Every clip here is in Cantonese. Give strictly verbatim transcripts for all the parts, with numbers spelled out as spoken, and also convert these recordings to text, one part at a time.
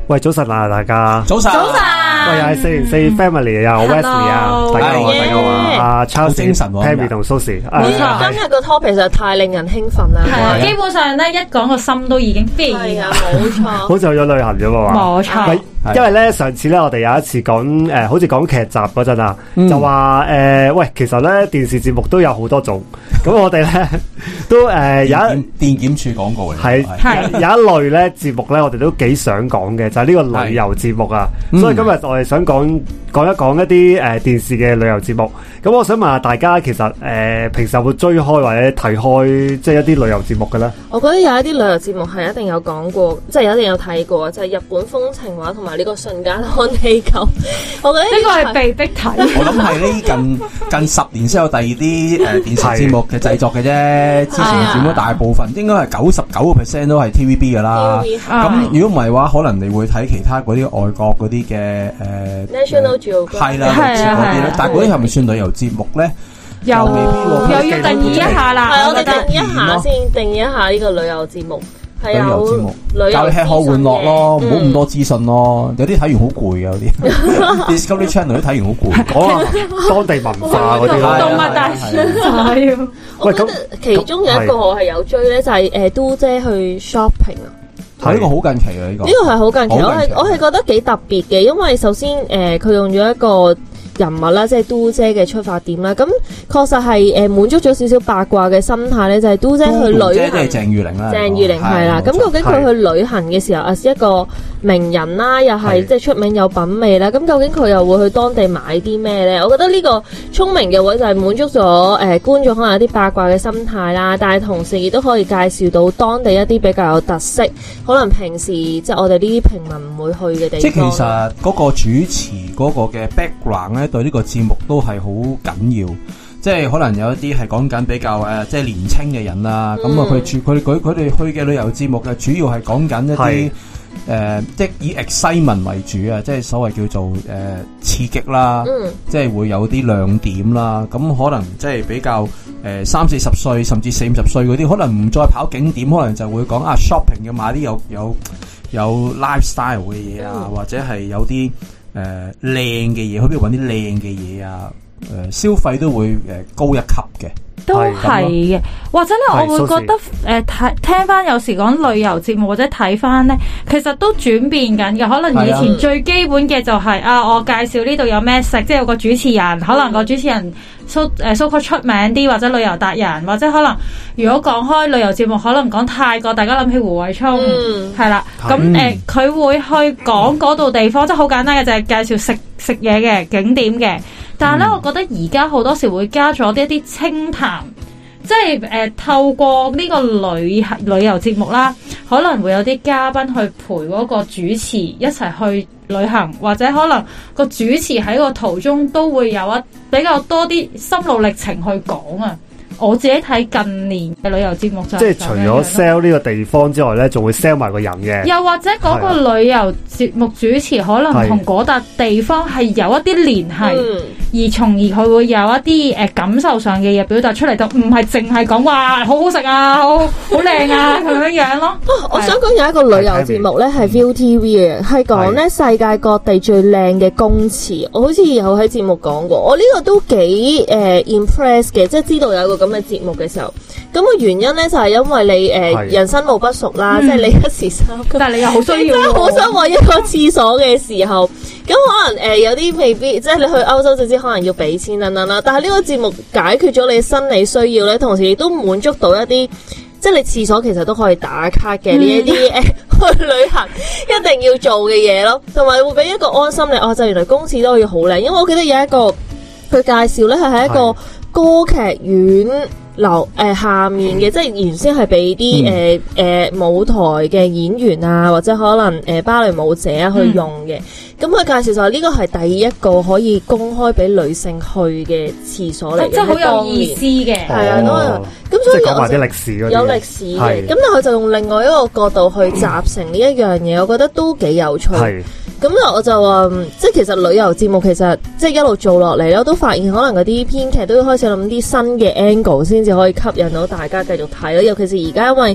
喂，早晨啊，大家。 早晨。早晨。 喂，又係四零四 Family 啊 ，Wesley 啊，大家好，大家好啊。阿 Charles、精神 Pammy 同 Susie。冇錯， 今日個 topic 實在太令人興奮啦。 係啊，基本上咧一講個心都已經飛。 係啊，冇錯。 好似去咗旅行咗嘛？ 冇錯。 因為咧上次咧我哋有一次講誒、呃，好似講劇集嗰陣啊，嗯、就話誒、呃，喂，其實咧電視節目都有好多種，咁我哋咧都誒、呃、有一電檢處廣告嚟， 係係有一類咧節目咧，我哋都幾想講嘅，就係、是、呢個旅遊節目啊。所以今日我哋想講講一講一啲誒、呃、電視嘅旅遊節目。咁我想問下大家，其實誒、呃、平時有冇追開或者睇開即係一啲旅遊節目嘅咧？ 我覺得有一啲旅遊節目係一定有講過，即係一定有睇過，就係、是、日本風情畫同埋呢個瞬間看地球。我覺得呢個係被逼睇。 我諗係呢近近十年先有第二啲誒電視節目嘅製作嘅啫。之前佔咗大部分，應該係九十九個 percent 都係 T V B 噶啦。咁如果唔係話，可能你會睇其他嗰啲外國嗰啲嘅誒 National Geographic 係啦，嗰啲咧。但係嗰啲係咪算旅遊節目咧？ 又未必又要定義一下啦。 係我哋定義一下先，定義一下呢個旅遊節目。 旅遊節目，教你吃喝玩樂咯，唔好咁多資訊咯。有啲睇完好攰嘅，有啲 Discovery Channel 都睇完好攰。講下當地文化嗰啲啦， 動物大師係。 我覺得其中有一個我係有追咧，就係誒都姐去 shopping 啊。 係呢個好近期啊！呢個呢個係好近期，我係我係覺得幾特別嘅，因為首先誒佢用咗一個人物啦，即係都姐嘅出發點啦，咁確實係誒滿足咗少少八卦嘅心態咧，就係、是、都姐去旅行，即係鄭裕玲啦， 鄭裕玲係啦。咁究竟佢去旅行嘅時候，啊是一個名人啦，又係即係出名有品味啦，咁究竟佢又會去當地買啲咩咧？我覺得呢個聰明嘅位就係滿足咗誒、呃、觀眾可能有啲八卦嘅心態啦，但係同時亦都可以介紹到當地一啲比較有特色，可能平時即係我哋呢啲平民唔會去嘅地方。 即係其實嗰個主持嗰個嘅 background 咧。對呢個節目都係好緊要，即係可能有一啲係講緊比較誒，即係年青嘅人啦。咁啊、嗯，佢住佢佢佢哋去嘅旅遊節目嘅主要係講緊一啲誒是、呃，即係以 excitement 為主啊，即係所謂叫做誒、呃、刺激啦，嗯、即係會有啲亮點啦。咁可能即係比較誒三四十歲甚至四五十歲嗰啲，可能唔再跑景點，可能就會講啊 shopping 要買啲有有有 lifestyle 嘅嘢啊，嗯、或者係有啲。誒，靚嘅嘢，去邊度搵啲靚嘅嘢啊？誒、呃，消費都會誒、呃、高一級嘅， 都係嘅。或者咧，我會覺得誒，睇、呃、聽翻有時講旅遊節目或者睇翻咧，其實都轉變緊嘅。可能以前最基本嘅就係、是、啊，啊，我介紹呢度有咩食，即係有個主持人，可能個主持人。so 誒 so called 出名啲，或者旅遊達人，或者可能如果講開旅遊節目，可能講泰國，大家諗起胡慧沖係啦。咁誒佢會去講嗰度地方，即係好簡單嘅，就係、是、介紹食食嘢嘅景點嘅。但係咧，嗯、我覺得而家好多時會加咗啲一啲清談，即係誒、呃、透過呢個旅旅遊節目啦，可能會有啲嘉賓去陪嗰個主持一齊去旅行，或者可能個主持喺個途中都會有一比較多啲心路歷程去講啊。我自己睇近年嘅旅遊節目就即係除咗 sell 呢個地方之外咧，仲會 sell 埋個人嘅。 又或者嗰個旅遊節目主持可能同嗰笪地方係有一啲聯繫，嗯、而從而佢會有一啲誒、呃、感受上嘅嘢表達出嚟，就唔係淨係講話好好食啊，好好靚啊咁樣樣咯。 我想講有一個旅遊節目咧係 ViuTV 嘅，係講咧世界各地最靚嘅公廁。我好似有喺節目講過，我呢個都幾誒、呃、impress 嘅，即係知道有個咁嘅節目嘅時候，咁、那個原因咧就係、是、因為你誒、呃、是人生路不熟啦，嗯、即係你一時三刻， 但係你又好需要， 好想揾一個廁所嘅時候，咁可能誒、呃、有啲未必，即係你去歐洲就知可能要俾錢等等啦。但係呢個節目解決咗你生理需要咧，同時亦都滿足到一啲，即係你廁所其實都可以打卡嘅呢一啲誒去旅行一定要做嘅嘢咯，同埋會俾一個安心你哦，就原來公廁都可以好靚，因為我記得有一個佢介紹咧係喺一個歌劇院樓誒、呃、下面嘅，即係原先係俾啲誒誒舞台嘅演員啊，或者可能誒、呃、芭蕾舞者啊去用嘅。咁佢、嗯、介紹就係呢個係第一個可以公開俾女性去嘅廁所嚟嘅， 即係好有意思嘅。係啊， 咁所以講埋啲歷史嗰啲， 有歷史嘅。咁但係佢就用另外一個角度去集成呢一樣嘢，我覺得都幾有趣。咁啊，我就話，即係其實旅遊節目其實即係一路做落嚟咧，我都發現可能嗰啲編劇都要開始諗啲新嘅 angle 先至可以吸引到大家繼續睇咯。尤其是而家因為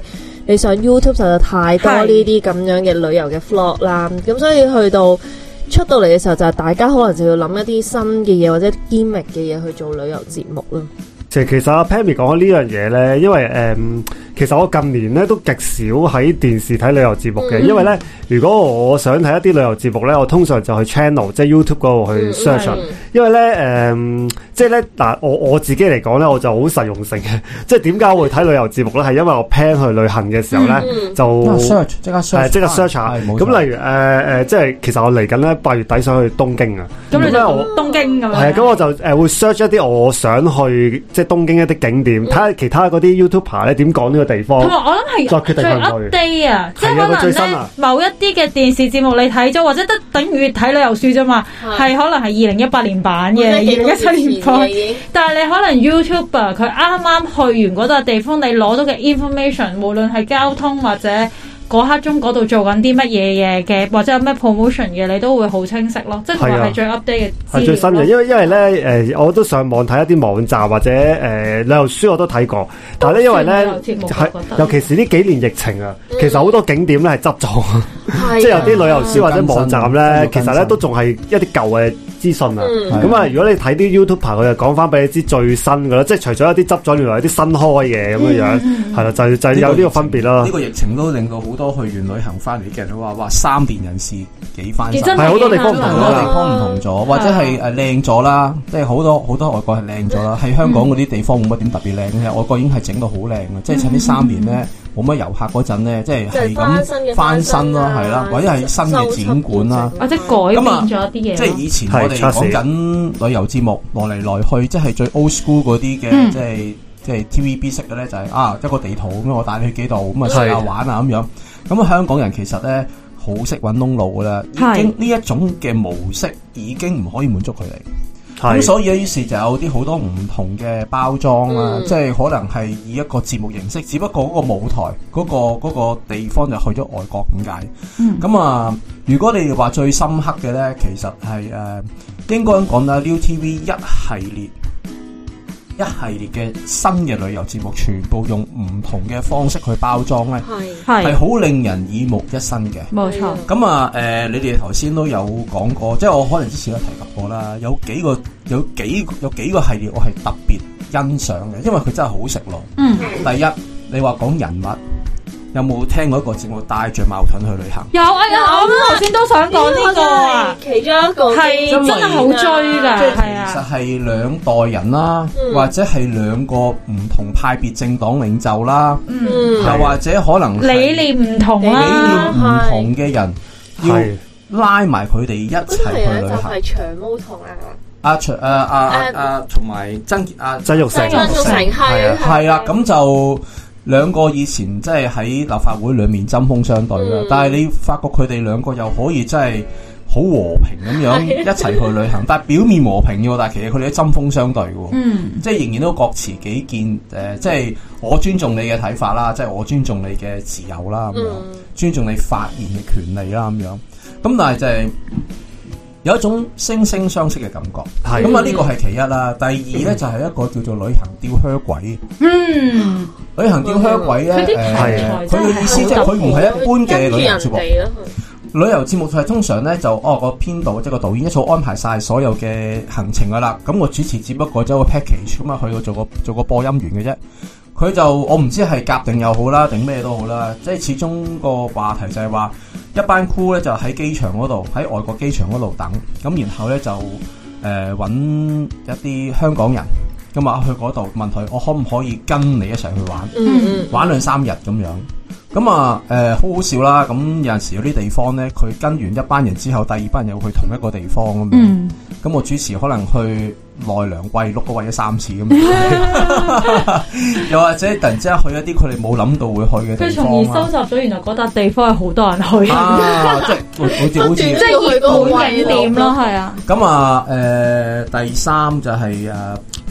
你上 YouTube 實在太多呢啲咁樣嘅旅遊嘅 vlog 啦，咁所以去到出到嚟嘅時候，就係大家可能就要諗一啲新嘅嘢或者 gimmick 嘅嘢去做旅遊節目啦。 其實阿 Pammy 講開呢樣嘢咧，因為誒、嗯，其實我近年咧都極少喺電視睇旅遊節目嘅，嗯、因為咧如果我想睇一啲旅遊節目咧，我通常就去 channel 即係 YouTube 嗰度去 search，嗯、因為咧誒、嗯，即係咧嗱，我我自己嚟講咧，我就好實用性嘅，即係點解我會睇旅遊節目咧？係因為我 plan 去旅行嘅時候咧，嗯、就 search 即刻 search， 即刻 search 下。咁例如誒誒、呃，即係其實我嚟緊咧八月底想去東京啊， 咁你就我東京咁樣， 係啊，咁我就誒會 search 一啲我想去即係東京一啲景點，睇下其他嗰啲 YouTuber 咧點講呢個地方。 同埋我諗係再決定去唔去。 update 啊，即係可能咧某一啲嘅電視節目你睇咗，或者得等於睇旅遊書啫嘛，係可能係二零一八年版嘅，二零一七年版。但係你可能 YouTuber 佢啱啱去完嗰笪地方，你攞到嘅 information， 無論係交通或者嗰刻鐘嗰度做緊啲乜嘢嘢嘅，或者有咩 promotion 嘅，你都會好清晰咯。即係同埋係最 update 嘅資料。係最新嘅， 因為因為咧誒、呃，我都上網睇一啲網站或者誒、呃、旅遊書我都睇過，但係咧因為咧係尤其是呢幾年疫情啊，嗯、其實好多景點咧係執咗，即係有啲旅遊書或者網站咧，其實咧都仲係一啲舊嘅資訊啊。咁啊、嗯，如果你睇啲 YouTuber 佢就講翻俾你知最新嘅啦，即係除咗一啲執咗，原來有啲新開嘅咁樣樣，係啦、嗯，就就有呢個分別啦。 呢個疫情都令到好多去完旅行翻嚟嘅人都話：哇，三年人事幾翻身， 係好多地方唔同， 好多地方唔同咗，或者係誒靚咗啦，即係好多好多外國係靚咗啦。喺香港嗰啲地方冇乜點特別靚嘅，外國已經係整到好靚嘅，即係趁呢三年咧冇乜遊客嗰陣咧，即係係咁翻新啦，係啦，或者係新嘅展館啦， 或者改變咗一啲嘢。 即係以前我哋講緊旅遊節目來嚟來去，即係最 old school 嗰啲嘅，即係。即係 T V B 式嘅咧，就係、是、啊一個地圖咁樣，我帶你去幾度咁啊食下玩啊咁樣。咁啊香港人其實咧好識揾窿路噶啦，已經呢一種嘅模式已經唔可以滿足佢哋。咁所以咧，於是就有啲好多唔同嘅包裝啊，嗯、即係可能係以一個節目形式，只不過嗰個舞台嗰、嗰個、嗰個地方就去咗外國咁解。咁、嗯、啊，如果你話最深刻嘅咧，其實係誒、呃、應該講啦 ，Viu T V 一系列。一系列嘅新嘅旅遊節目，全部用唔同嘅方式去包裝咧，係係好令人耳目一新嘅。冇錯。咁啊，誒、呃，你哋頭先都有講過，即係我可能之前都提及過啦，有幾個有幾有幾個系列我係特別欣賞嘅，因為佢真係好食咯。嗯。第一，你話講人物。有冇聽過一個節目帶着矛盾去旅行？ 有啊有，我頭先都想講呢個啊， 其中一個係真係好追噶，係啊， 其實係兩代人啦，或者係兩個唔同派別政黨領袖啦，嗯，又或者可能理念唔同啦， 理念唔同嘅人要拉埋佢哋一齊去旅行。 係長毛同啊阿長誒阿阿同埋曾阿曾鈺成， 曾鈺成係啊係啦，咁就。兩個以前即係喺立法會裏面針鋒相對啦，嗯、但係你發覺佢哋兩個又可以真係好和平咁樣一齊去旅行，但係表面和平嘅，但係其實佢哋都針鋒相對嘅，嗯、即係仍然都各持己見，誒、呃，即係我尊重你嘅睇法啦，即係我尊重你嘅自由啦，咁樣、嗯、尊重你發言嘅權利啦，咁樣，咁但係就係、是。有一種惺惺相惜嘅感覺，咁啊呢個係其一啦。第二咧就係一個叫做旅行吊靴鬼。嗯，旅行吊靴鬼咧，誒，佢嘅意思即係佢唔係一般嘅旅遊節目。旅遊節目係通常咧就哦個編導即係個導演一早安排晒所有嘅行程噶啦，咁個主持只不過走個 package 咁啊去到做個做個播音員嘅啫。佢就我唔知係夾定又好啦，定咩都好啦，即係始終個話題就係話一班 crew 咧就喺機場嗰度，喺外國機場嗰度等，咁然後咧就誒揾、呃、一啲香港人，咁啊去嗰度問佢，我可唔可以跟你一齊去玩，嗯、玩兩三日咁樣。咁啊，誒、呃，好好笑啦！咁有陣時有啲地方咧，佢跟完一班人之後，第二班人又去同一個地方咁樣。咁、嗯、我主持可能去奈良喂鹿個喂咗三次咁樣，又或者突然之間去一啲佢哋冇諗到會去嘅地方。 佢從而收集咗原來嗰笪地方係好多人去啊！即係好似好似即係熱門景點咯，係啊。 咁啊，誒、呃，第三就係、是、誒。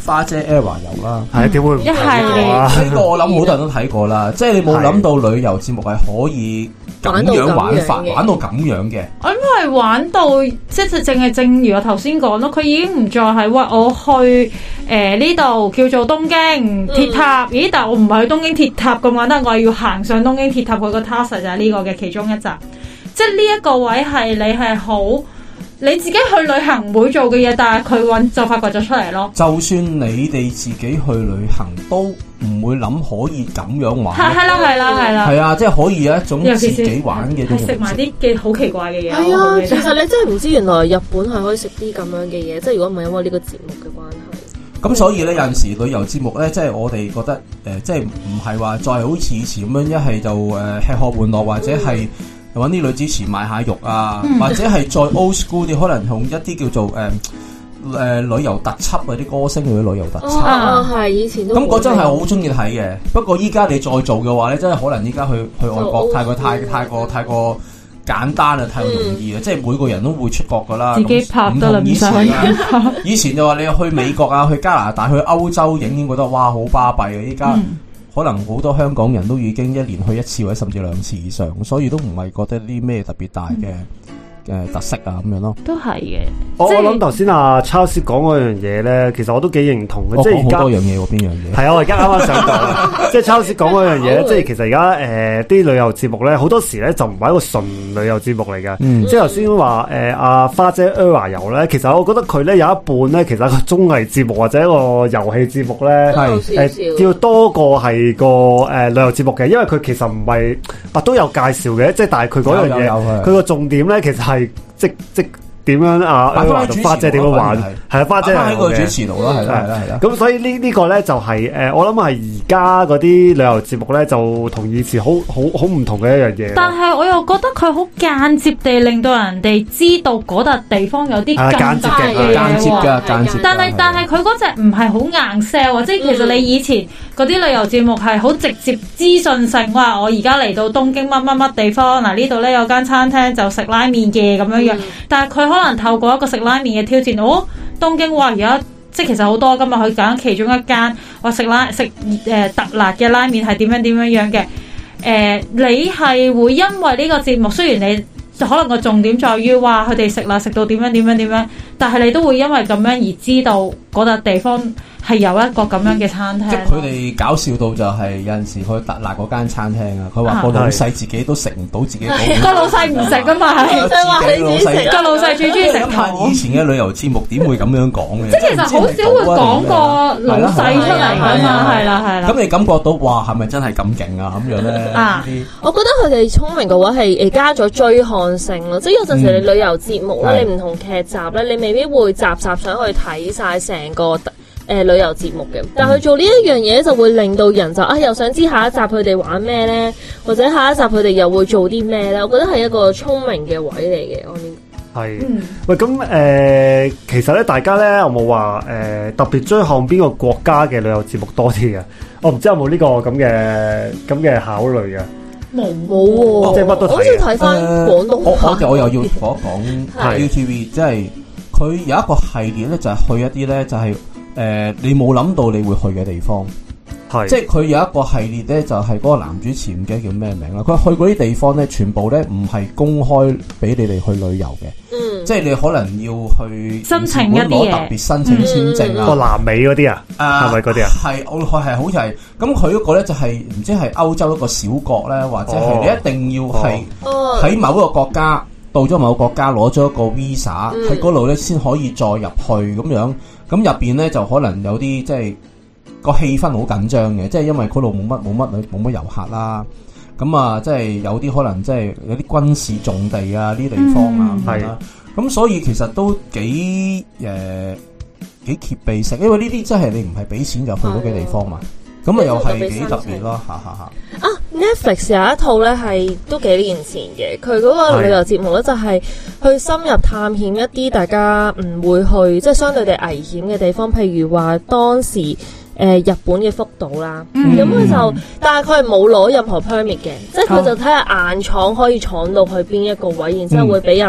花姐 Era 遊啦， 係點會唔睇過啊？ 呢個我諗好多人都睇過啦，即係你冇諗到旅遊節目係可以咁樣玩法，玩到咁樣嘅。 我諗係玩到即係淨係正如我頭先講咯，佢已經唔再係喂我去誒呢度叫做東京鐵塔，嗯、咦？但係我唔係去東京鐵塔咁簡單，我係要行上東京鐵塔，佢個 task 就係呢個嘅其中一集。即係呢一個位係你係好。你自己去旅行唔會做嘅嘢，但係佢揾就發掘咗出嚟咯。就算你哋自己去旅行，都唔會諗可以咁樣玩。 係係啦係啦係啦。 係啊，即係可以有一種自己玩嘅。 係食埋啲嘅好奇怪嘅嘢。 係啊，其實你真係唔知原來日本係可以食啲咁樣嘅嘢，即係如果唔係因為呢個節目嘅關係。 咁所以咧，有陣時旅遊節目咧，即係我哋覺得誒、呃，即係唔係話再好似以前咁樣，一係就誒、呃、吃喝玩樂，或者係。嗯揾啲女主持賣下肉啊，嗯、或者係再 old school 啲，可能同一啲叫做誒誒、呃呃、旅遊特輯嗰啲歌星嘅旅遊特輯。 啊，係以前都咁嗰真係好中意睇嘅。不過依家你再做嘅話咧，真係可能依家去去外國太過太太過太過簡單啊，太過容易啊，嗯、即係每個人都會出國噶啦。 自己拍得啦，唔使。 以前就話你去美國啊，去加拿大、去歐洲影影，覺得哇好巴閉啊！依家。嗯可能好多香港人都已經一年去一次或者甚至兩次以上，所以都唔係覺得啲咩特別大嘅嘅特色啊咁樣咯。 都係嘅。 我我諗頭先阿 Charles 講嗰樣嘢咧，其實我都幾認同嘅。即係而家好多樣嘢喎，邊樣嘢？ 係啊，我而家啱啱想講，即係 Charles 講嗰樣嘢咧，即係其實而家誒啲旅遊節目咧，好多時咧就唔係一個純旅遊節目嚟嘅。嗯、即係頭先話誒阿花姐 Era 遊咧，其實我覺得佢咧有一半咧，其實一個綜藝節目或者一個遊戲節目咧，係誒要多過係個誒、呃、旅遊節目嘅，因為佢其實唔係啊都有介紹嘅，即係但係佢嗰樣嘢，佢個重點咧其實係即即。點樣啊？花姐點樣玩？係啊，花姐喺個主持度咯，係啦，係啦，係啦。 咁所以呢呢個咧就係誒，我諗係而家嗰啲旅遊節目咧，就同以前好好好唔同嘅一樣嘢。 但係我又覺得佢好間接地令到人哋知道嗰笪地方有啲更大嘅嘢。 間接嘅，間接。 但係但係佢嗰隻唔係好硬 sell，即係其實你以前嗰啲旅遊節目係好直接資訊性，哇！我而家嚟到東京乜乜乜地方，嗱呢度咧有間餐廳就食拉麵嘅咁樣樣，但係佢。可能透過一個食拉麵嘅挑戰，哦，東京話而家即係其實好多，今日去揀其中一間話食拉食誒、呃、特辣嘅拉麵係點樣點樣樣嘅。誒、呃，你係會因為呢個節目，雖然你可能個重點在於話佢哋食辣食到點樣點樣點樣，但係你都會因為咁樣而知道嗰笪地方係有一個咁樣嘅餐廳。即係佢哋搞笑到就係有陣時去特辣嗰間餐廳啊，佢話個老細自己都食唔到自己個老細唔食噶嘛，係自己老細個老細最中意食糖。 以前嘅旅遊節目點會咁樣講嘅？ 即係其實好少會講個老細出嚟噶嘛，係啦係啦。 咁你感覺到哇，係咪真係咁勁啊？咁樣咧啊？ 我覺得佢哋聰明嘅話係誒加咗追看性咯，即係有陣時你旅遊節目咧，你唔同劇集咧，你未必會集集上去睇晒成個。誒、呃、旅遊節目嘅，但係佢做呢一樣嘢就會令到人就啊又想知下一集佢哋玩咩咧，或者下一集佢哋又會做啲咩咧？我覺得係一個聰明嘅位嚟嘅，我呢係。嗯、喂，咁誒、呃，其實咧，大家咧有冇話誒特別追看邊個國家嘅旅遊節目多啲嘅？我唔知有冇呢、這個咁嘅咁嘅考慮嘅。 冇冇喎，即係乜都睇。好似睇翻廣東話。 我我我又要講一講 U T V，即係佢有一個系列咧，就係、是、去一啲咧，就係、是。誒、呃，你冇諗到你會去嘅地方，係是即係佢有一個系列咧，就係、是、嗰個男主持唔記得叫咩名啦。佢去嗰啲地方咧，全部咧唔係公開俾你哋去旅遊嘅，嗯，即係你可能要去申請一啲嘢， 特別申請簽證啊， 個南美嗰啲啊，係咪嗰啲啊？係我係係好似係，咁佢嗰個咧就係、是、唔知係歐洲一個小國咧，或者係你一定要係喺某一個國家。哦到咗某個國家攞咗一個 visa 喺嗰度咧，先可以再入去咁樣。咁入邊咧就可能有啲即係個氣氛好緊張嘅，即係因為嗰度冇乜冇乜冇乜遊客啦。咁啊，即係有啲可能即係有啲軍事重地啊，呢啲地方啊，係啊。咁所以其實都幾誒、呃、幾貼地性，因為呢啲真係你唔係俾錢就去嗰幾地方嘛。咁啊又係幾特別咯，哈哈哈！ 啊 Netflix 有一套咧係都幾年前嘅，佢嗰個旅遊節目咧就係去深入探險一啲大家唔會去，即係相對地危險嘅地方，譬如話當時誒、呃、日本嘅福島啦，咁佢、嗯、就，但係佢係冇攞任何 permit 嘅，即係佢就睇下硬闖可以闖到去邊一個位，然之後會俾人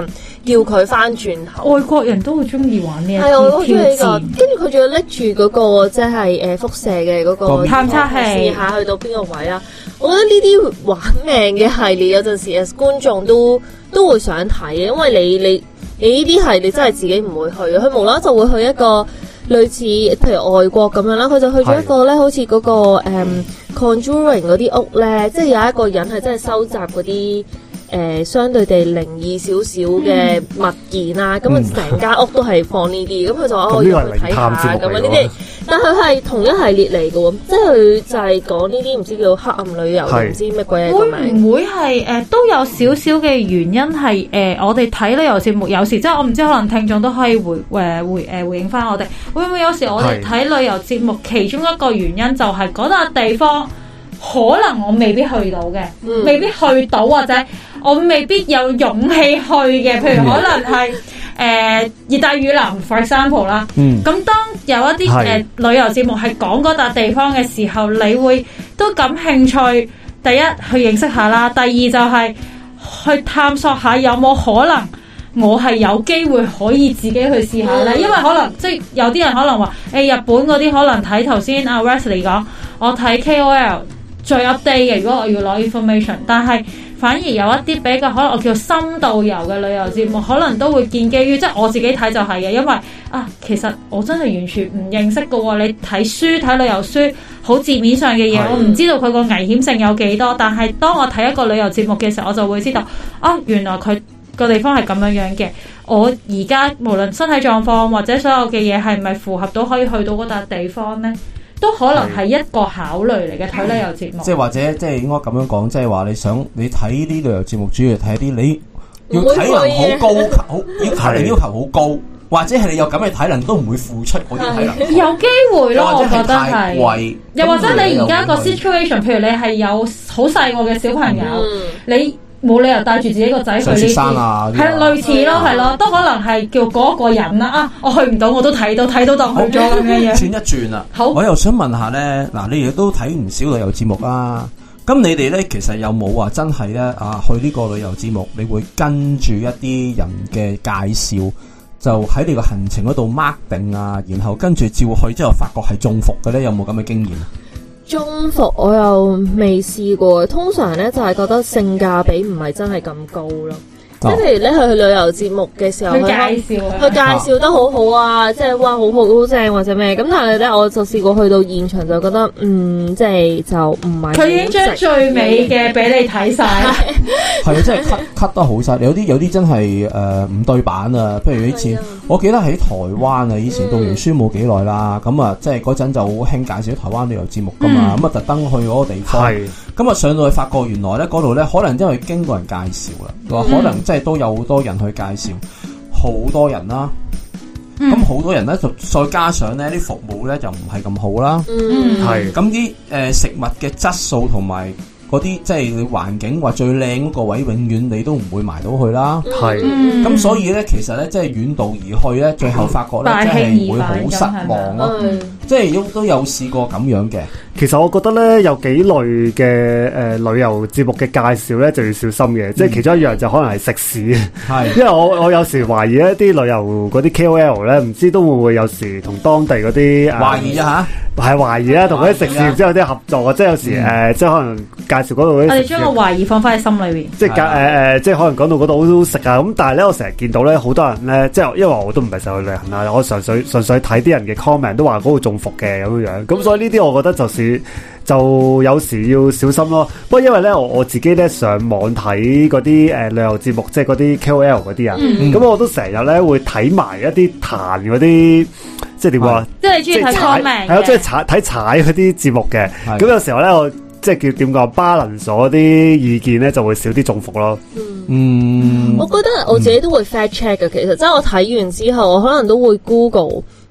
叫佢翻轉頭。 外國人都好中意玩呢一係我好中意呢個， 戰跟住佢仲要拎住嗰個即係誒輻射嘅嗰個探測器， 試下去到邊個位啦。我覺得呢啲玩命嘅系列有陣時啊，觀眾都都會想睇嘅，因為你你你呢啲係你真係自己唔會去嘅，佢無啦啦就會去一個類似譬如外國咁樣啦，佢就去咗一個咧，好似嗰、嗰個誒、um, Conjuring 嗰啲屋咧，即係有一個人係真係收集嗰啲。誒、呃、相對地靈異少少嘅物件啊，咁啊成間屋都係放呢啲，咁佢就話我要去睇下咁啊呢啲，但佢係同一系列嚟嘅喎，即係佢就係講呢啲唔知叫黑暗旅遊，唔知乜鬼嘢個名。 會唔會係誒、呃、都有少少嘅原因係誒、呃、我哋睇旅遊節目有時即係我唔知可能聽眾都可以回誒、呃、回誒、呃、回應翻我哋，會唔會有時我哋睇旅遊節目其中一個原因就係嗰笪地方可能我未必去到嘅，嗯、未必去到或者。我未必有勇氣去嘅，譬如可能係誒熱帶雨林 for example 啦。咁、嗯、當有一啲誒、呃、旅遊節目係講嗰笪地方嘅時候，你會都感興趣。第一去認識下啦，第二就係去探索下有冇可能我係有機會可以自己去試下咧。嗯、因為可能即係有啲人可能話誒、欸、日本嗰啲可能睇頭先阿 Wesley 講，我睇 K O L 最 update 嘅。如果我要攞 information， 但係反而有一啲比較可能我叫深度遊嘅旅遊節目，可能都會建基於即係我自己睇就係嘅，因為啊，其實我真係完全唔認識嘅喎。你睇書睇旅遊書，好字面上嘅嘢，我唔知道佢個危險性有幾多。但係當我睇一個旅遊節目嘅時候，我就會知道啊，原來佢個地方係咁樣樣嘅。我而家無論身體狀況或者所有嘅嘢係咪符合到可以去到嗰笪地方呢？都可能係一個考慮嚟嘅睇旅遊節目， 即係或者即係應該咁樣講，即係話你想你睇啲旅遊節目，主要睇啲你要體能好高，好要體能要求好高，或者係你有咁嘅體能都唔會付出嗰啲體能， 有機會咯，我覺得係。 貴， 又或者你而家個 situation，譬如你係有好細個嘅小朋友，嗯、你。冇理由帶住自己個仔去呢啲，係類似咯，係咯，都可能係叫嗰個人啦啊！我去唔到，我都睇到，睇到當去咗咁樣嘢。轉一轉啦，好， 我又想問下咧，嗱，你哋都睇唔少旅遊節目啦，咁你哋咧其實有冇話真係咧啊去呢個旅遊節目，你會跟住一啲人嘅介紹，就喺你個行程嗰度 mark 定啊，然後跟住照去之後，發覺係中伏嘅咧，有冇咁嘅經驗？ 中伏我又未試過，通常咧就係、是、覺得性價比唔係真係咁高咯。即係譬如咧去去旅遊節目嘅時候， 佢介紹， 佢介紹得好好啊，即係哇好好好正或者咩咁，但係咧我就試過去到現場就覺得嗯，即係就唔係。佢已經將最美嘅俾你睇晒， 係啊，真係 cut cut 得好晒。有啲有啲真係誒唔對版啊。譬如以前我記得喺台灣啊，以前讀完書冇幾耐啦，咁啊即係嗰陣就好興介紹台灣旅遊節目噶嘛，咁啊特登去嗰個地方，咁啊上到去發覺原來咧嗰度咧可能因為經過人介紹啦，話可能即係都有好多人去介紹，好多人啦。咁好、嗯、多人咧，就再加上咧啲服務咧就唔係咁好啦。 嗯， 係咁啲誒食物嘅質素同埋嗰啲即係你環境話最靚嗰個位，永遠你都唔會埋到去啦。係咁、嗯，所以咧其實咧即係遠道而去咧，最後發覺咧即係會好失望咯。即係都都有試過咁樣嘅。 其實我覺得咧有幾類嘅誒、呃、旅遊節目嘅介紹咧就要小心嘅，嗯、即係其中一樣就可能係食肆，係是因為我我有時懷疑一啲旅遊嗰啲 K O L 咧，唔知都會唔會有時同當地嗰啲懷疑啊嚇，係懷疑啊，同嗰啲食肆唔知有啲合作啊，即係有時誒、嗯呃，即係可能介紹嗰度嗰啲， 我哋將個懷疑放翻喺心裏邊， 即係誒誒，即係可能講到嗰度好好食啊，咁但係咧我成日見到咧好多人咧，即係因為我都唔係成日去旅行啊，我純粹純粹睇啲人嘅 comment 都話嗰度中伏嘅咁樣樣，咁所以呢啲我覺得就是。就有時要小心咯。不過因為咧，我我自己咧上網睇嗰啲誒旅遊節目，即係嗰啲 K O L 嗰啲啊，咁、嗯、我都成日咧會睇埋一啲彈嗰啲，即係點講？ 即係中意睇 comment 係啊，中意踩睇踩嗰啲節目嘅。咁的有時候咧，我即係叫點講，balance咗啲意見咧，就會少啲中伏咯。 嗯， 嗯我覺得我自己都會 fact check 嘅。其實即係我睇完之後，我可能都會 Google。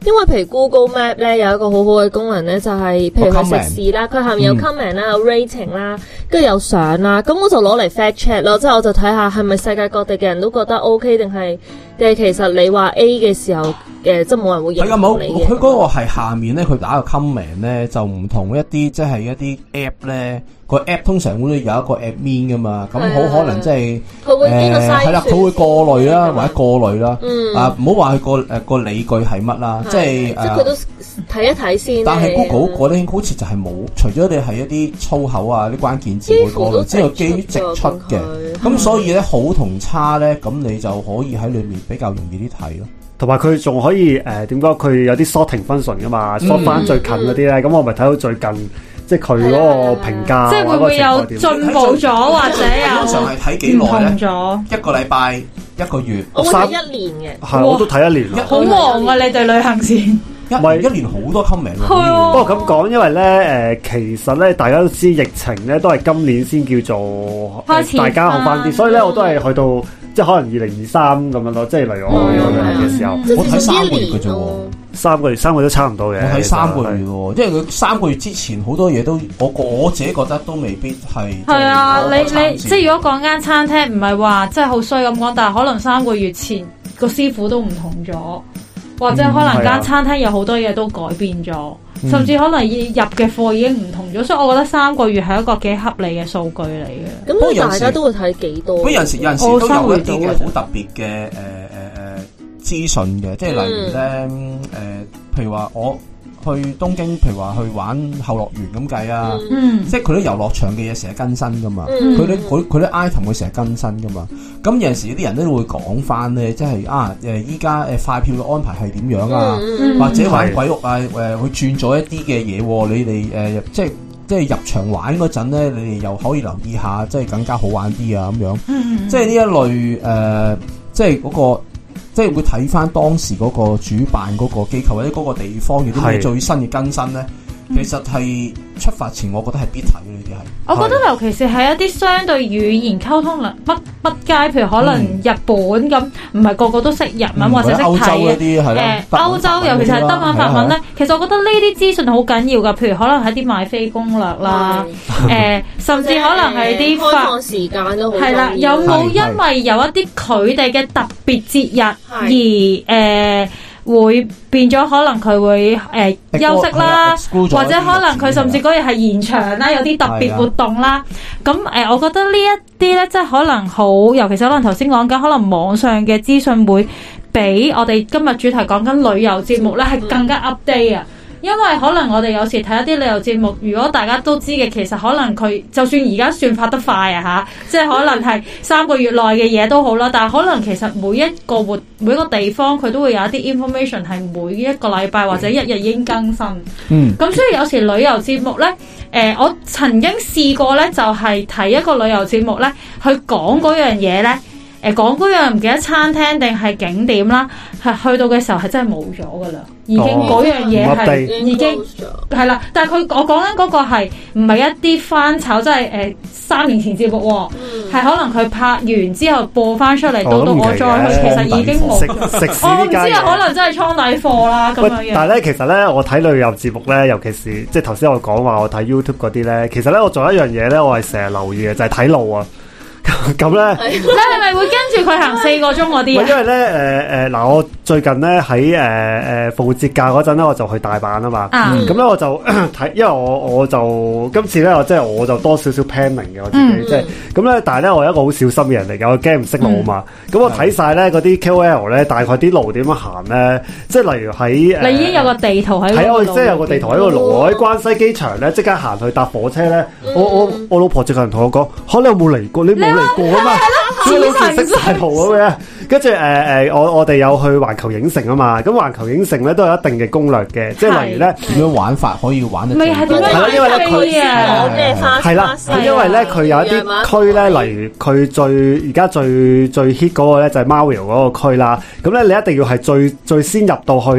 因為譬如 Google Map 咧有一個好好嘅功能咧，就係、是、譬如佢食肆啦，佢下面有 comment 啦、嗯，有 rating 啦，跟住有相啦，咁我就攞嚟 fact check 咯，即係我就睇下係咪世界各地嘅人都覺得 OK 定係定係其實你話 A 嘅時候，誒、呃、即係冇人會認同你嘅。佢嗰個係下面咧，佢打個 comment 咧就唔同一啲，即係一啲 app 咧。個 app 通常會有一個 admin 噶嘛，咁好可能即係佢會經過篩選， 係啦，佢會過濾啦，或者過濾啦， 嗯、 啊唔好話佢個誒個理據係乜啦，即係即係佢都睇一睇先。 但係 Google 嗰啲好似就係冇，除咗你係一啲粗口啊、啲關鍵字會過濾，之後基於直出嘅，咁所以咧好同差咧，咁你就可以喺裏面比較容易啲睇咯。 同埋佢仲可以誒點講？佢、呃、有啲 sorting function 噶嘛 ，sort 翻最近嗰啲咧，咁、嗯、我咪睇到最近。即係佢嗰個評價， 即係會唔會有進步咗，或者有通常係睇幾耐咧？一個禮拜、一個月， 我睇一年嘅， 係我都睇一年。 好忙啊！你哋旅行前一唔係一年好多 comment 喎。 不過咁講，因為咧誒，其實咧大家都知疫情咧都係今年先叫做大家好翻啲，所以咧我都係去到即係可能二零二三咁樣咯。即係例如我去旅行嘅時候， 我睇三個月嘅啫。 三個月，三個月都差唔多嘅。 我睇三個月喎，因為佢三個月之前好多嘢都，我我自己覺得都未必係。係啊，你你即係如果講間餐廳唔係話即係好衰咁講，但係可能三個月前個師傅都唔同咗，或者可能間餐廳有好多嘢都改變咗，嗯、甚至可能入嘅貨已經唔同咗，所以我覺得三個月係一個幾合理嘅數據嚟嘅。 咁大家都會睇幾多？ 不過有陣時有陣時都有一啲嘅好特別嘅誒誒誒。資訊嘅，即係例如咧，誒、嗯呃，譬如話我去東京，譬如話去玩後樂園咁計啊，嗯、即係佢啲遊樂場嘅嘢成日更新噶嘛，佢啲佢佢啲 item 會成日更新噶嘛，咁有陣時啲人都會講翻咧，即係啊，誒依家誒快票嘅安排係點樣啊，嗯、或者玩鬼屋啊，誒佢轉咗一啲嘅嘢，你哋誒、呃、即係即係入場玩嗰陣咧，你哋又可以留意下，即係更加好玩啲啊咁樣，嗯、即係呢一類誒、呃，即係嗰、嗰個。即係會睇翻當時嗰個主辦嗰個機構或者嗰個地方有啲咩最新嘅更新咧，其實係出發前，我覺得係必睇嘅呢啲係。 我覺得尤其是係一啲相對語言溝通能不不佳，譬如可能日本咁，唔係個個都識日文或者識睇嘅。誒，歐洲尤其是係德文法文咧，其實我覺得呢啲資訊好緊要噶。譬如可能係啲買飛攻略啦，誒，甚至可能係啲開放時間都好重要。 係啦，有冇因為有一啲佢哋嘅特別節日而誒？會變咗，可能佢會誒、呃、休息啦，或者可能佢甚至嗰日係延長啦，有啲特別活動啦。咁誒、呃，我覺得呢一啲咧，即係可能好，尤其是可能頭先講緊，可能網上嘅資訊會比我哋今日主題講緊旅遊節目咧，係更加 update 啊。因為可能我哋有時睇一啲旅遊節目，如果大家都知嘅，其實可能佢就算而家算發得快啊吓，即係可能係三個月內嘅嘢都好啦，但係可能其實每一個活每一個地方佢都會有一啲 information 係每一個禮拜或者一日已經更新。嗯，咁所以有時旅遊節目咧，誒、呃，我曾經試過咧，就係、是、睇一個旅遊節目咧，去講嗰樣嘢咧。誒，講嗰樣唔記得餐廳定係景點啦，係去到嘅時候係真係冇咗噶啦，已經嗰樣嘢係已經係啦。但係佢我講緊嗰個係唔係一啲翻炒，即係誒三年前節目，係可能佢拍完之後播翻出嚟，到到我再去，其實已經冇。我唔知啊，可能真係倉底貨啦咁樣樣。 但係咧，其實咧，我睇旅遊節目咧，尤其是即係頭先我講話我睇 YouTube 嗰啲咧，其實咧我做一樣嘢咧，我係成日留意嘅，就係睇路啊。咁咧，你係咪會跟住佢行四個鐘嗰啲？ 因為咧，誒誒嗱，我最近咧喺誒誒復活節假嗰陣咧，我就去大阪啊嘛。咁咧、嗯、我就睇，因為我我就今次咧，我即係我就多少少 planning 嘅我自己，即係咁咧。但係咧，我係一個好小心嘅人嚟嘅，我驚唔識路啊嘛。咁、嗯、我睇晒咧嗰啲 K O L 咧，大概啲路點樣行咧，即係例如喺你已經有個地圖喺， 係我即係有個地圖喺個路。我喺關西機場咧，即刻行去搭火車咧。我我我老婆即刻同我講：嚇你有冇嚟過？你冇嚟過啊嘛？啲老師識晒圖咁樣，跟住誒誒，我我哋有去環球影城啊嘛，咁環球影城咧都有一定嘅攻略嘅，即係例如咧點樣玩法可以玩得最係啦，因為咧佢係啦，因為咧佢有一啲區咧，例如佢最而家最最 hit 嗰個咧就係 Mario 嗰個區啦，咁咧你一定要係最最先入到去咧。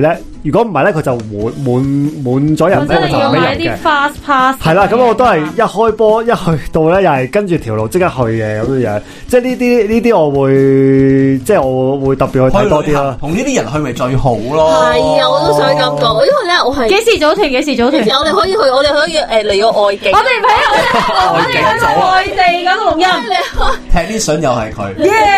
如果唔係咧，佢就滿滿滿咗人咧，佢就唔俾人嘅。 fast pass 係啦，咁我都係一開波一去到咧，又係跟住條路即刻去嘅咁樣樣。即係呢啲呢啲，我會即係我會特別去睇多啲啦。同呢啲人去咪最好咯。係啊，我都想咁講，因為咧我係幾時組團？幾時組團？ 我哋可以去，我哋可以誒嚟個外景。 我哋唔係我哋去外地咁錄音。 踢啲相又係佢。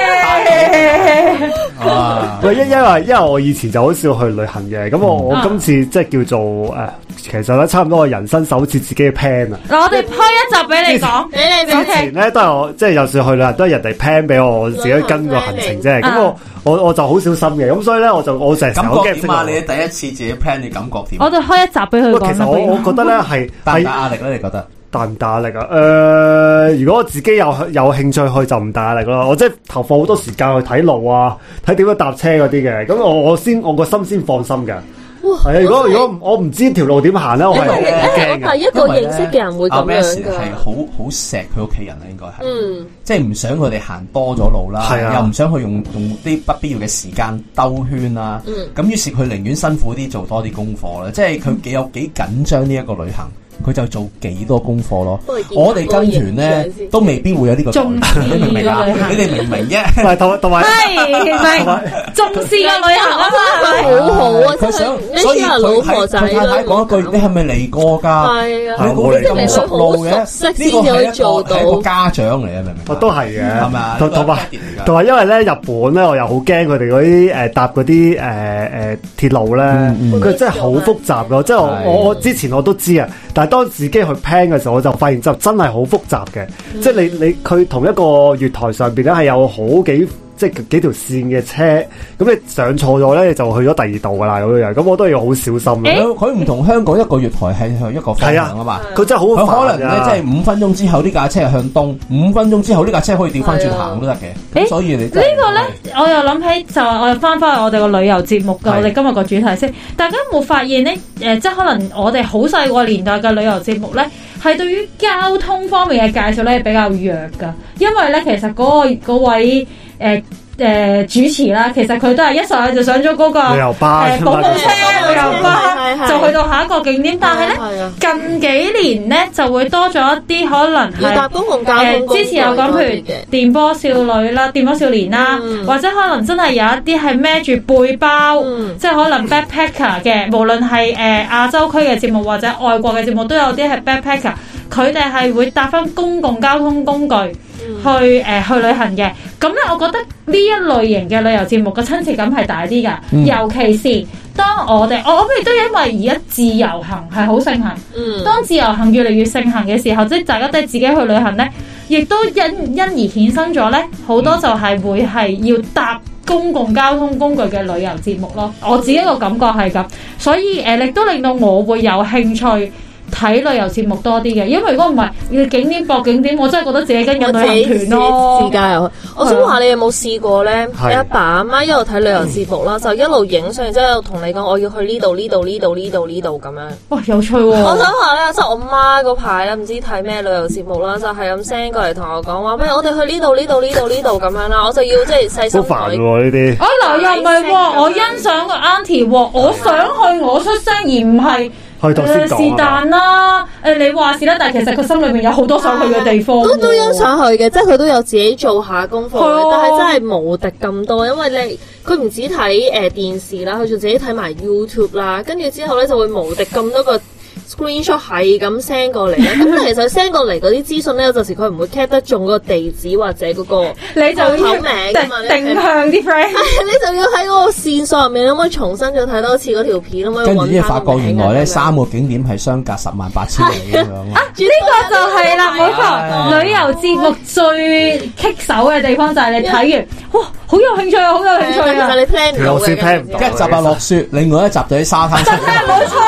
喂，因因為因為我以前就好少去旅行嘅，咁我我今次即係叫做誒，其實咧差唔多我人生首次自己嘅 plan 啊。 嗱，我哋開一集俾你講，俾你之前咧都係我即係有時去旅行都係人哋 plan 俾我，我自己跟個行程啫。咁我我我就好小心嘅，咁所以咧我就我成日感覺點啊？你第一次自己 plan 你感覺點？ 我哋開一集俾佢講。 其實我我覺得咧係大唔大壓力咧？你覺得？ 大唔大壓力啊？誒、呃，如果我自己有有興趣去就唔大壓力咯。我即係投放好多時間去睇路啊，睇點樣搭車嗰啲嘅。咁我我先我個心先放心嘅。係啊，如果如果我唔知條路點行咧，我係驚嘅。 係一個認識嘅人會咁樣㗎。 係好好錫佢屋企人啦，應該係。嗯。即係唔想佢哋行多咗路啦，啊、又唔想去用用啲不必要嘅時間兜圈啦。嗯。咁於是佢寧願辛苦啲做多啲功課啦，即係佢幾有幾緊張呢一個旅行。佢就做幾多功課咯，我哋跟團咧都未必會有呢個重視，你明唔明啊？你哋明唔明啫？唔係同同埋係重視嘅旅行啊嘛， 好好啊！ 佢想，所以佢係佢太太講一句：你係咪嚟過㗎？係啊，你估你咁熟路嘅？呢個係一個係一個家長嚟啊，明唔明？ 都係嘅， 係咪啊？ 同同埋同埋，因為咧日本咧，我又好驚佢哋嗰啲誒搭嗰啲誒誒鐵路咧，佢真係好複雜㗎。即係我我我之前我都知啊，但係當自己去 plan 嘅時候，我就發現就真係好複雜嘅，嗯、即係你你佢同一個月台上邊咧係有好幾即係幾條線嘅車，咁你上錯咗咧就去咗第二度噶啦咁樣，咁我都要好小心。 佢唔同香港一個月台係向一個方向啊嘛，佢真係好佢可能咧即係五分鐘之後呢架車係向東，五分鐘之後呢架車可以調翻轉行都得嘅。所以你、這個、呢個咧， 我又諗起就我又翻翻去我哋個旅遊節目嘅，我哋今日個主題先。大家有冇發現咧？誒、呃，即係可能我哋好細個年代嘅旅遊節目咧，係對於交通方面嘅介紹咧比較弱噶，因為咧其實嗰、那個嗰位誒。呃誒、呃，主持啦，其實佢都係一上去就上咗嗰、那個旅遊巴， 誒，保姆車、旅遊巴，就去到下一個景點。但係咧，近幾年咧就會多咗一啲可能係搭公共交通、呃。 之前有講，譬如電波少女啦、電波少年啦，嗯、或者可能真係有一啲係孭住背包，嗯、即係可能 backpacker 嘅，無論係誒亞洲區嘅節目或者外國嘅節目，都有啲係 backpacker，佢哋係會搭翻公共交通工具。去誒、呃、去旅行嘅，咁咧我覺得呢一類型嘅旅遊節目嘅親切感係大啲噶，嗯、尤其是當我哋我諗亦都因為而家自由行係好盛行，嗯、當自由行越嚟越盛行嘅時候，即係大家都係自己去旅行咧，亦都因因而衍生咗咧好多就係會係要搭公共交通工具嘅旅遊節目咯。我自己個感覺係咁，所以誒亦都令到我會有興趣睇旅遊節目多啲嘅，因為如果唔係要景點博景點，我真係覺得自己跟緊旅行團咯。 自駕遊，我想話你有冇試過咧？你阿爸阿媽一路睇旅遊節目啦，就一路影相，之後同你講我要去呢度呢度呢度呢度呢度咁樣。 哇，有趣喎！ 我想話咧，即係我媽嗰排咧，唔知睇咩旅遊節目啦，就係咁 send 過嚟同我講話，不如我哋去呢度呢度呢度呢度咁樣啦，我就要即係細心睇。 好煩喎呢啲。 啊嗱，又唔係喎，我欣賞個 auntie 喎，我想去我出聲，而唔係。誒是但啦，誒你話是啦，但係其實佢心裏面有好多想去嘅地方， 都都欣賞去嘅，即係佢都有自己做下功課，哦、但係真係無敵咁多，因為你佢唔止睇誒、呃、電視啦，佢仲自己睇埋 YouTube 啦，跟住之後咧就會無敵咁多個 screenshot 係咁 send 過嚟咧，咁其實 send 過嚟嗰啲資訊咧，有陣時佢唔會 cap 得中個地址或者嗰個你就要口名㗎嘛， 定向啲 friend， 你就要喺嗰個線索入面，可唔可以重新再睇多次嗰條片，可唔可以揾翻個名？跟住咧發覺原來咧三個景點係相隔十萬八千里咁樣啊！ 呢個就係啦，冇錯，旅遊節目最棘手嘅地方就係你睇完，哇，好有興趣啊，好有興趣啊！ 其實你聽唔到嘅， 一集啊落雪，另外一集就喺沙灘。 真係冇錯啦，係啦。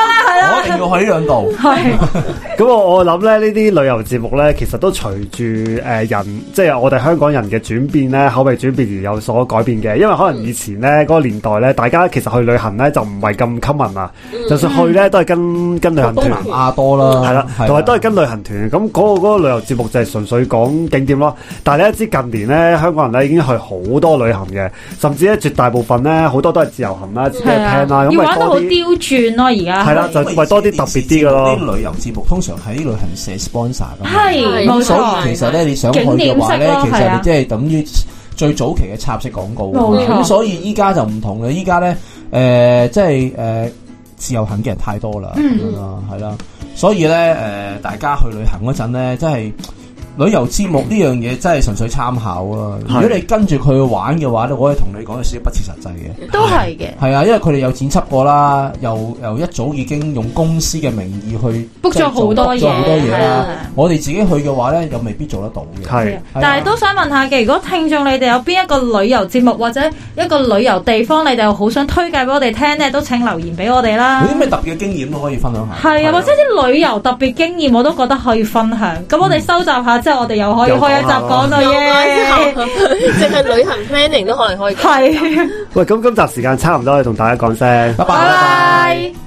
啊， 我一定要去呢兩度。 係。 咁我我諗咧，呢啲旅遊節目咧，其實都隨住誒人，即係我哋香港人嘅轉變咧，口味轉變而有所改變嘅。因為可能以前咧嗰個年代咧，大家其實去旅行咧就唔係咁 common 啊，就算去咧都係跟跟旅行團， 東南亞多啦， 係啦，同埋都係跟旅行團。咁嗰個嗰個旅遊節目就係純粹講景點咯。但係你知近年咧，香港人咧已經去好多旅行嘅，甚至咧絕大部分咧好多都係自由行啦，自己 plan 啦，咁要玩到好刁鑽咯，而家係啦，就為多啲特別啲嘅咯。 啲旅遊節目通常喺旅行社 sponsor 噶嘛， 係冇錯。 所以其實咧，你想去嘅話咧，其實你即係等於最早期嘅插式廣告。 冇錯。 咁所以依家就唔同啦，依家咧誒，即係誒、呃、自由行嘅人太多啦，嗯係啦，所以咧誒、呃，大家去旅行嗰陣咧，真係。旅遊節目呢樣嘢真係純粹參考啊！如果你跟住佢去玩嘅話咧，我可以同你講有少少不切實際嘅。 都係嘅。 係啊，因為佢哋有剪輯過啦，又又一早已經用公司嘅名義去 book 咗好多嘢， 好多嘢啦。我哋自己去嘅話咧，又未必做得到嘅。 係， 但係都想問下嘅，如果聽眾你哋有邊一個旅遊節目或者一個旅遊地方，你哋又好想推介俾我哋聽咧，都請留言俾我哋啦。 有啲咩特別嘅經驗都可以分享下。 係啊，或者啲旅遊特別經驗我都覺得可以分享。咁我哋收集下之後，我哋又可以開一集講到嘢， 淨係旅行 planning 都可能可以。 係。 喂，咁今集時間差唔多，同大家講聲， 拜拜。